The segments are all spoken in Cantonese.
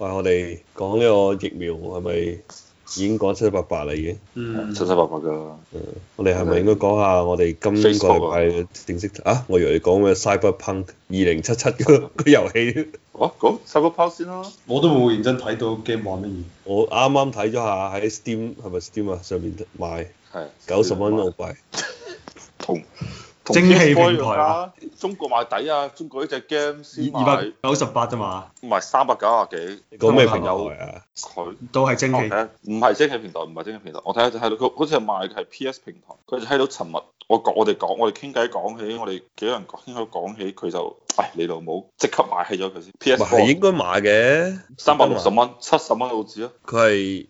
喂，我哋講呢個疫苗係咪已經講七七八八啦？已經， 七七八八㗎。 我哋係咪應該講下我哋今個禮拜正式啊？我以為你講咩 Cyberpunk 2077個遊戲。 講 Cyberpunk 先啦。 我都冇認真睇到 game 玩乜嘢。 我啱啱睇咗下喺 Steam 係咪 Steam 啊上面賣， 係 90蚊澳幣。 同蒸汽平台啊！ 中國賣抵啊！中國呢隻 game 先賣 298啫嘛， 唔係390幾。 你講咩平台啊？ 佢都係蒸汽。 唔係蒸汽平台，唔係蒸汽平台。我睇下就睇到佢好似係賣嘅係 PS 平台。佢就睇到尋日我哋傾偈講起，我哋幾個人傾偈講起，佢就你老母即刻買起咗佢先。PS 係應該買嘅 ，360蚊，70蚊澳紙啊！ 佢係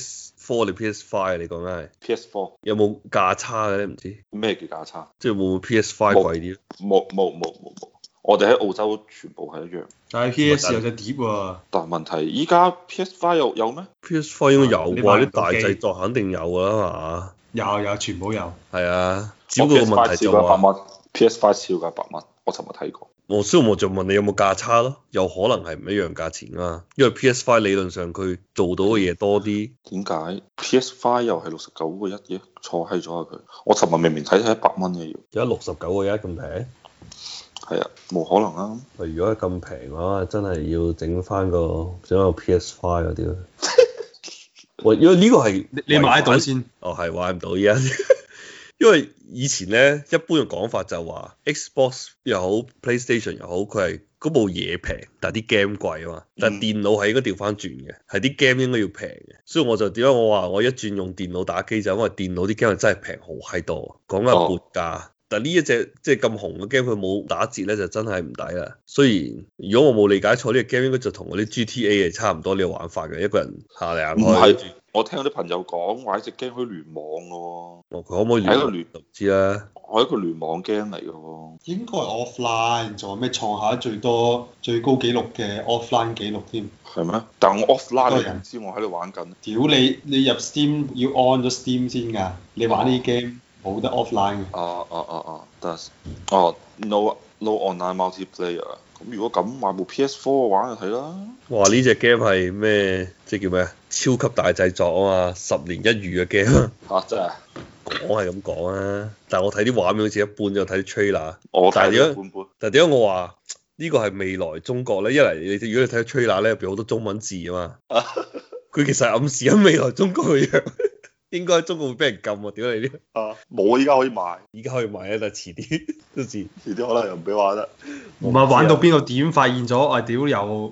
PS4 定 PS5 你講緊係 PS4 有冇價差嘅咧？唔知咩叫價差？ 即係會唔會 PS5 貴啲？ 冇，我哋喺澳洲全部係一樣。 但係 PS 有隻碟喎。 但係問題依家 PS5 有咩 ？PS5 應該有啩，啲大製作肯定有㗎啦嘛。 有，全部有。 係啊，只不過個問題就話 PS5 少價100蚊，我尋日睇過。 所以我就問你有冇價差咯？有可能係唔一樣價錢啊，因為 PS5 理論上佢做到嘅嘢多啲。 點解 PS5 又係69個1嘅？錯閪咗啊佢！我尋日明明睇係100蚊嘅要。 而家69個1咁平？ 係啊，冇可能啊！ 如果係咁平嘅話，真係要整翻個 PS5 嗰啲咯。喂，因為呢個係你買到先。 哦，係買唔到而家。因為以前咧，一般嘅講法就話 Xbox 又好 PlayStation 又好，佢係嗰部嘢平，但係啲 game 貴啊嘛。但係電腦係應該調翻轉嘅，係啲 game 應該要平嘅。所以我就點解我話我一轉用電腦打機就因為電腦啲 game 真係平好閪多，講緊半價。但係呢一隻即係咁紅嘅 game 佢冇打折咧，就真係唔抵啦。雖然如果我冇理解錯，呢個 game 應該就同嗰啲 GTA 係差唔多呢個玩法嘅，一個人行嚟行去。 我聽到啲朋友講話呢隻 game 可以聯網嘅喎。 佢可唔可以聯？係一個聯唔知啦。 係一個聯網 game 嚟嘅喎。 應該係 offline，仲有咩創下最高紀錄嘅 offline 紀錄添。 係咩？但係我 offline 你唔知我喺度玩緊。 屌你入 Steam 要 on 咗 Steam 先㗎，你玩呢啲 game 冇得 offline 嘅。 得。No online multiplayer。咁如果咁買部 PS4 玩就睇啦。 哇！呢隻 game 係咩？即係叫咩啊？超級大製作啊嘛，10年一遇嘅 game。 真係。 講係咁講啊，但係我睇啲畫面好似一般，就睇啲 trailer。 但係點解我話呢個係未來中國咧？一嚟你如果你睇 trailer 咧，入邊好多中文字啊嘛。佢其實係暗示緊未來中國嘅樣。應該中國會俾人禁喎，屌你啲！ 冇，依家可以買。 依家可以買啊，但係遲啲都遲啲可能又唔俾玩得。 唔係玩到邊個點發現咗？屌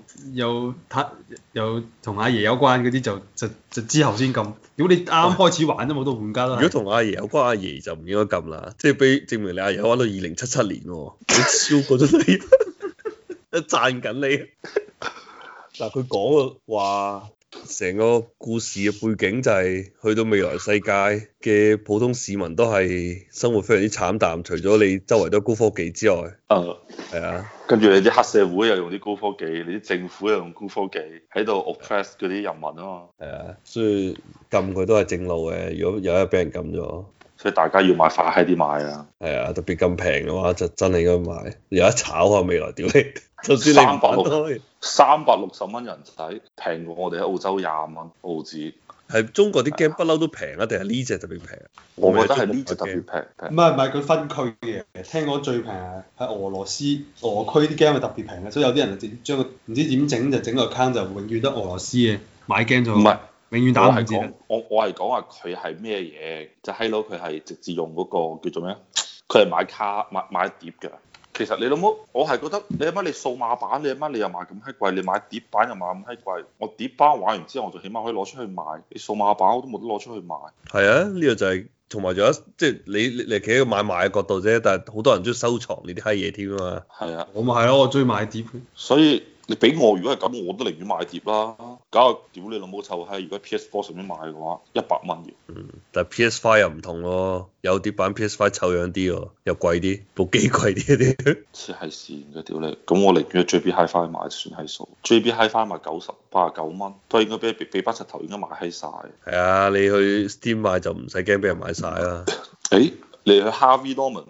又同阿爺有關嗰啲就之後先禁。屌你啱開始玩都冇到換家啦。 如果同阿爺有關，阿爺就唔應該禁啦。即係俾證明你阿爺玩到2077年喎，你超過咗你，一讚緊你。嗱，佢講話。成個故事嘅背景就係去到未來世界嘅普通市民都係生活非常之慘淡，除咗你周圍都高科技之外，係啊， 跟住你啲黑社會又用啲高科技，你啲政府又用高科技喺度 oppress 嗰啲人民啊嘛， 係啊，所以禁佢都係正路嘅。如果有一日俾人禁咗，所以大家要買快啲買啊， 係啊，特別咁平嘅話就真係應該買，有得炒啊未來屌你，就算你唔玩都可以。 360蚊人仔，平過我哋喺澳洲20蚊澳紙。 係中國啲 game 不嬲都平啊，定係呢隻特別平？ 我覺得係呢隻特別平。 唔係佢分區嘅，聽講最平係俄羅斯俄區啲 game 係特別平嘅，所以有啲人就將個唔知點整就整個 account 就永遠得俄羅斯嘅買 game 就唔係永遠打唔折。 我係講話佢係咩嘢？就閪佬佢係直接用嗰個叫做咩？佢係買卡買碟㗎。其實你老母，我係覺得你阿媽你數碼版，你阿媽你又賣咁閪貴，你買碟版又賣咁閪貴，我碟版玩完之後，我就起碼可以攞出去賣。你數碼版我都冇得攞出去賣。係啊，呢個就係同埋仲有即係你企喺個買賣嘅角度啫，但係好多人中意收藏呢啲閪嘢添啊嘛。 係啊， 我咪係咯，我中意買碟。 所以你俾我，如果係咁，我都寧願買碟啦。搞個屌你老母臭閪！如果 PS4 上面買嘅話，100蚊要。 但係 PS5 又唔同咯，有碟版 PS5 臭樣啲喎，又貴啲，部機貴啲啲。 黐係線嘅屌你！咁我寧願 JB Hi-Fi 買算係數。JB Hi-Fi 賣89蚊，都應該俾班柒頭應該買閪晒。 係啊，你去 Steam 買就唔使驚俾人買晒啦。 誒，你去 Harvey Norman 買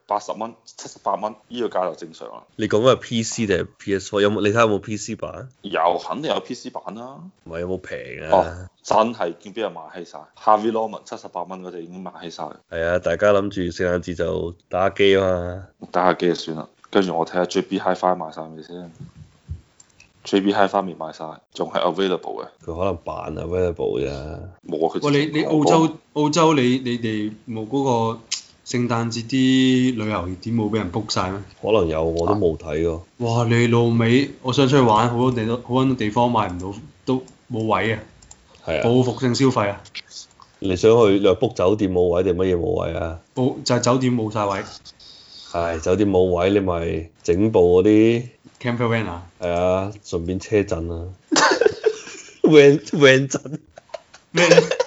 80蚊、78蚊，呢個價就正常啦。 你講緊係 PC 定係 PS4？有冇你睇下有冇 PC 版？ 有肯定有 PC 版啦。 唔係有冇平啊？ 哦，真係見邊人賣閪晒 Harvey Norman 78蚊嗰隻已經賣閪晒。 係啊，大家諗住聖誕節就打機啊嘛。 打下機就算啦。跟住我睇下 JB Hi-Fi 賣晒未先。JB Hi-Fi 未賣晒，仲係 available 嘅。 佢可能扮 available 啫。 冇啊！佢喂，你澳洲你哋冇嗰個聖誕節啲旅遊點冇俾人 book 晒咩？ 可能有，我都冇睇過。 哇！你老味，我想出去玩，好多地方買唔到，都冇位啊！ 係啊。 報復性消費啊！ 你想去你話 book 酒店冇位定乜嘢冇位啊？ 就係酒店冇晒位。 係酒店冇位，你咪整部嗰啲 camper van 啊？ 係啊，順便車震啊，van 震咩？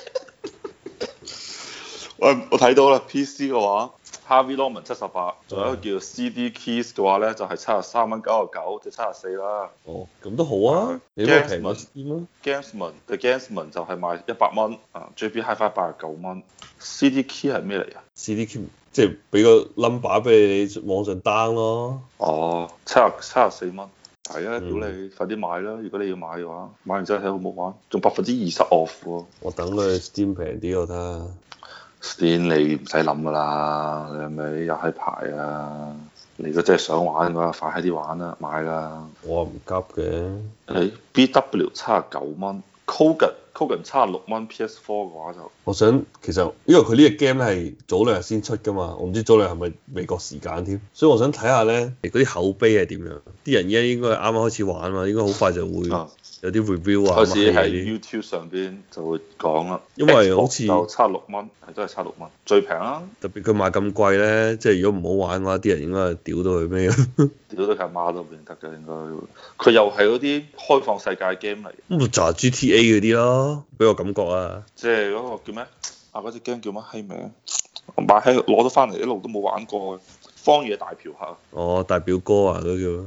喂，我睇到啦，PC 嘅話，Harvey Norman 78，仲有一個叫 CD Keys 嘅話咧，就係73.99蚊，即係74啦。 哦，咁都好啊，你都平過先啊。 The Gamesman 就係賣100蚊，JB Hi-Fi 89蚊。CD Key 係咩嚟啊 ？CD Key 即係俾個 number 俾你網上 down 咯。 哦，74蚊。係啊，屌你，快啲買啦！如果你要買嘅話，買完之後睇好唔好玩，仲20% off 喎。 我等佢 Steam 平啲我睇下。 Steam 你唔使諗噶啦，你係咪有閪牌啊？你如果真係想玩嘅話，快啲玩啦，買啦。 我唔急嘅。 你 BW 79蚊，Kogan 76蚊 PS4 嘅話就。我想其實因為佢呢個 game 咧係早兩日先出噶嘛，我唔知早兩日係咪美國時間添，所以我想睇下咧嗰啲口碑係點樣。啲人而家應該係啱啱開始玩嘛，應該好快就會有啲 review 啊。 開始喺 YouTube 上邊就會講啦。 因為好似就76蚊，係都係76蚊，最平啦。 特別佢賣咁貴咧，即係如果唔好玩嘅話，啲人應該係屌到佢咩？ 屌到佢阿媽都唔認得嘅應該。佢又係嗰啲開放世界 game 嚟。 咁就係 GTA 嗰啲咯，俾我感覺啊。 即係嗰個叫咩？嗰隻 game 叫乜閪名？我買喺攞咗翻嚟，一路都冇玩過嘅。荒野大嫖客。哦， 大表哥啊，都叫。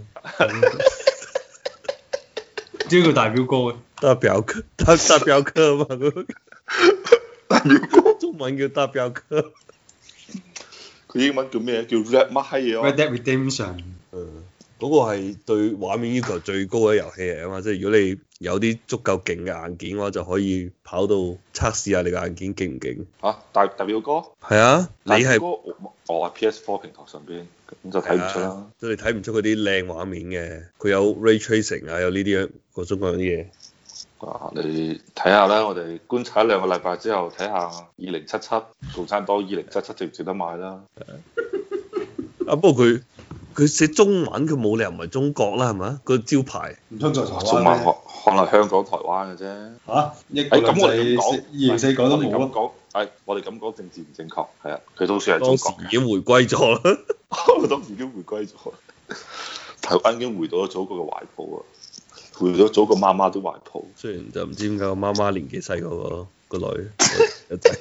點叫大表哥嘅？ 大表哥，大表哥啊嘛， 大表哥。 中文叫大表哥。 佢英文叫咩？叫 Red 乜閪嘢 ？Red Dead Redemption。 嗰個係對畫面要求最高嘅遊戲嚟啊嘛，即係如果你有啲足夠勁嘅硬件嘅話，就可以跑到測試下你嘅硬件勁唔勁。 嚇，大表哥？ 係啊，你係我喺 PS4 平台上邊，咁就睇唔出啦。 即係你睇唔出嗰啲靚畫面嘅，佢有 Ray Tracing 啊，有呢啲各種各樣啲嘢。 你睇下啦，我哋觀察一兩個禮拜之後，睇下2077共產黨2077值唔值得買啦。 啊，不過佢寫中文，佢冇理由唔係中國啦，係咪？個招牌唔通在台灣咩？ 中文可能香港、台灣嘅啫。 嚇！咁我哋講204講都冇咯。我哋咁講政治唔正確，係啊，佢都算係中國嘅。 當時已經回歸咗啦。 當時已經回歸咗，台灣已經回到咗祖國嘅懷抱啊！回到祖國媽媽的懷抱。 雖然就唔知點解個媽媽年紀細過個女個仔。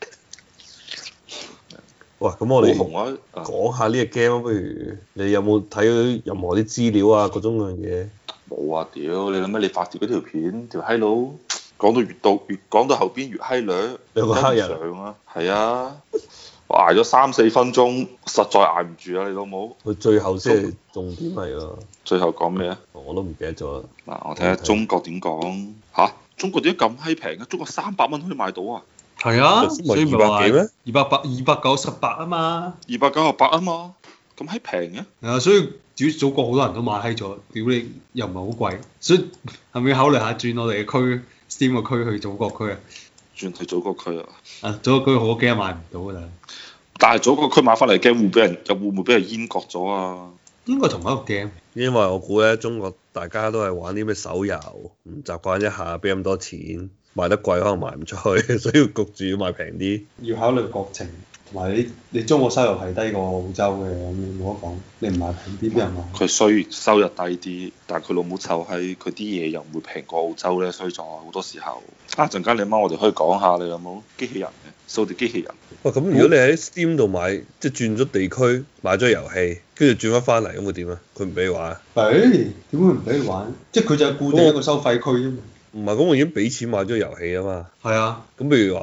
喂，咁我哋講下呢個 game，不如你有冇睇到任何啲資料啊？各種各樣嘢。 冇啊！屌，你諗咩？你發條嗰條片，條閪佬講到越講到後邊越閪掠， 兩個黑人啊，係啊，我捱咗3-4分鐘，實在捱唔住啊！你老母。 佢最後先係重點嚟㗎。 最後講咩啊？ 我都唔記得咗啦。 嗱，我睇下中國點講嚇？中國點解咁閪平嘅？中國300蚊可以買到啊！ 係啊，所以咪話 200幾咩 ？298啊嘛 ，298啊嘛，咁閪平嘅。 係啊，所以祖國好多人都買閪咗，屌你又唔係好貴，所以係咪要考慮下轉我哋嘅區 Steam 個區去祖國區啊？ 轉去祖國區啊？ 啊，祖國區好多 game 買唔到㗎啦。但係祖國區買翻嚟 game 會唔會俾人閹割咗啊？ 應該同一個 game。 因為我估咧，中國大家都係玩啲咩手遊，唔習慣一下俾咁多錢。賣得貴可能賣唔出去，所以焗住要賣平啲。 要考慮國情，同埋你中國收入係低過澳洲嘅，咁你冇得講。你唔賣平啲，邊人買？ 佢雖然收入低啲，但係佢老母臭閪，佢啲嘢又唔會平過澳洲咧，所以就好多時候。陣間你媽我哋可以講下，你有冇機器人嘅掃地機器人？ 哇！咁如果你喺 Steam 度買，即係轉咗地區買咗遊戲，跟住轉翻嚟，咁會點啊？佢唔俾你玩啊？ 點會唔俾你玩？即係佢就係固定一個收費區啫嘛。 唔係，咁我已經俾錢買咗遊戲啊嘛。 係啊。 咁譬如話，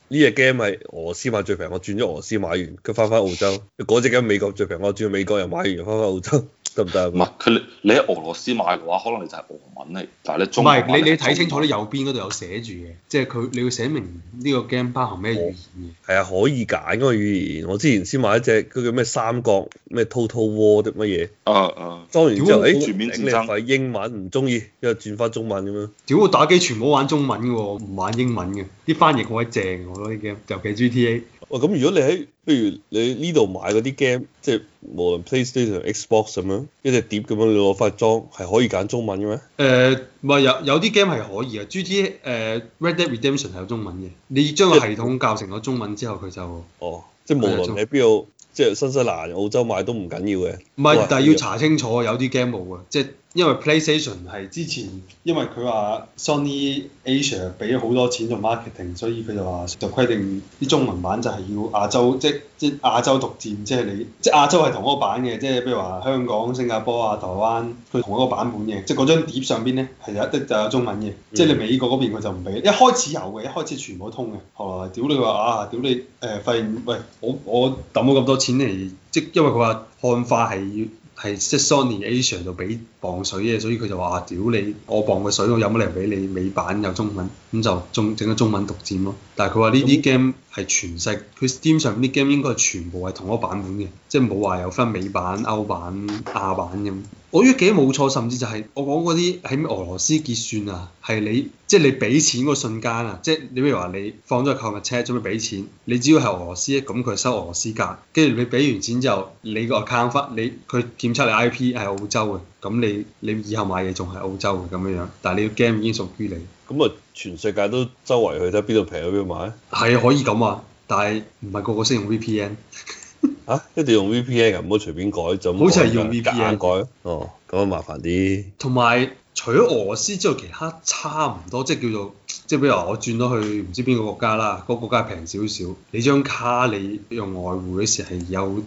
呢隻 game 係俄羅斯買最平，我轉咗俄羅斯買完，佢翻澳洲。嗰隻 game 美國最平，我轉美國又買完，翻澳洲得唔得？ 唔係佢你喺俄羅斯買嘅話，可能你就係俄文嚟，但係你中唔文係你睇清楚你右邊嗰度有寫住嘅，即係佢你要寫明呢個 game 包含咩語言嘅。 係啊，可以揀嗰個語言。我之前先買一隻嗰叫咩三國咩 Total War 啲乜嘢。裝完之後， 全面戰爭係英文唔中意，因為轉翻中文咁樣。 屌我打機全部玩中文嘅喎，唔玩英文嘅。啲翻譯好鬼正，我覺得啲 game，尤其 GTA。 哇！咁如果你喺，譬如你呢度買嗰啲 game，即係無論 PlayStation、Xbox 咁樣一隻碟咁樣，你攞翻去裝係可以揀中文嘅咩？ 唔係有啲 game 係可以嘅，GTA Red Dead Redemption 係有中文嘅。你將個系統校成咗中文之後，佢就即係無論你喺邊度，即係新西蘭、澳洲買都唔緊要嘅。 唔係，但係要查清楚，有啲 game 冇嘅，即係因為 PlayStation 係之前，因為佢話 Sony Asia 俾咗好多錢做 marketing，所以佢就話就規定啲中文版就係要亞洲，即係亞洲獨佔，即係你即係亞洲係同一個版嘅，即係譬如話香港、新加坡啊、台灣，佢同一個版本嘅，即係嗰張碟上邊咧係有一啲就有中文嘅，即係你美國嗰邊佢就唔俾，一開始有嘅，一開始全部通嘅，後來屌你話屌你發現喂我抌咗咁多錢嚟，即因為佢話漢化係即係 Sony Asia 度俾磅水嘅，所以佢就話屌你，我磅嘅水我有乜理由俾你美版有中文，咁就整咗中文獨佔咯。但係佢話呢啲 game 係全世，佢 Steam 上邊啲 game 應該係全部係同一個版本嘅，即係冇話有分美版、歐版、亞版咁。我呢幾冇錯，甚至就係我講嗰啲喺俄羅斯結算啊，係你即係你俾錢嗰瞬間啊，即係你譬如話你放咗購物車準備俾錢，你只要係俄羅斯咁佢收俄羅斯價，跟住你俾完錢之後，你個 account 翻佢檢測你 IP 係澳洲嘅，咁你以後買嘢仲係澳洲嘅咁樣樣，但係你個 game 已經屬於你。 咁啊，全世界都周圍去睇邊度平喺邊度買？ 係可以咁話，但係唔係個個識用 VPN。 一定要用 VPN 唔好隨便改，就好似係用 VPN 改。咁啊麻煩啲。同埋除咗俄羅斯之外，其他差唔多，即係叫做即係比如話我轉咗去唔知邊個國家啦，嗰個國家平少少，你張卡你用外匯嗰時係有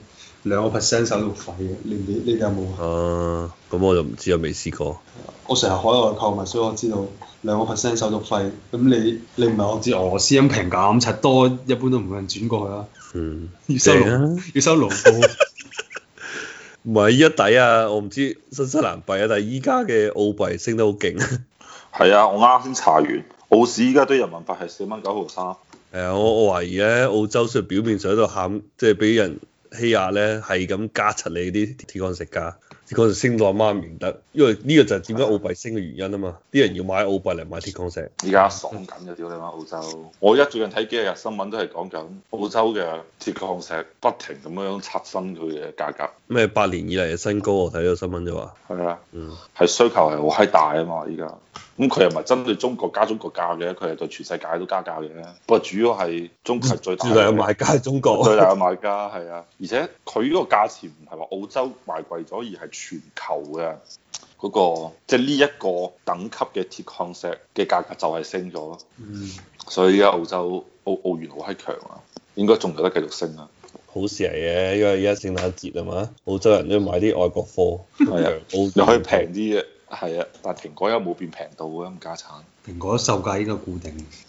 2% 手續費嘅，你哋有冇啊？ 咁我就唔知啊，未試過。 我成日海外購物，所以我知道2% 手續費。咁你唔係我知俄羅斯咁平咁柒多，一般都唔會有人轉過去啦。要收盧布。 唔係依家抵啊！我唔知新西蘭幣啊，但係依家嘅澳幣升得好勁。 係啊，我啱先查完，澳市依家對人民幣係4蚊9毫3。 係啊，我懷疑咧，澳洲雖然表面上喺度喊，即係俾人欺壓咧，係咁加柒你啲鐵礦石價。鐵礦石升到阿媽唔認得，因為呢個就係點解澳幣升嘅原因啊嘛！啲人要買澳幣嚟買鐵礦石。 依家爽緊嘅屌你媽澳洲！我而家最近睇幾日新聞都係講緊澳洲嘅鐵礦石不停咁樣刷新佢嘅價格。 咩8年以嚟嘅新高？我睇到新聞就話。 係啊。係需求係好閪大啊嘛！依家。咁佢又唔係針對中國加中國價嘅，佢係對全世界都加價嘅。不過主要係中國係最大嘅買家，中國最大嘅買家係啊！而且佢呢個價錢唔係話澳洲賣貴咗，而係全球嘅嗰個即係呢一個等級嘅鐵礦石嘅價格就係升咗。所以而家澳洲澳元好閪強啊，應該仲有得繼續升啊！ 好事嚟嘅，因為而家聖誕節啊嘛，澳洲人都要買啲外國貨， 係啊，又可以平啲嘅。係啊，但係蘋果又冇變平到啊，咁家產。 蘋果售價應該固定。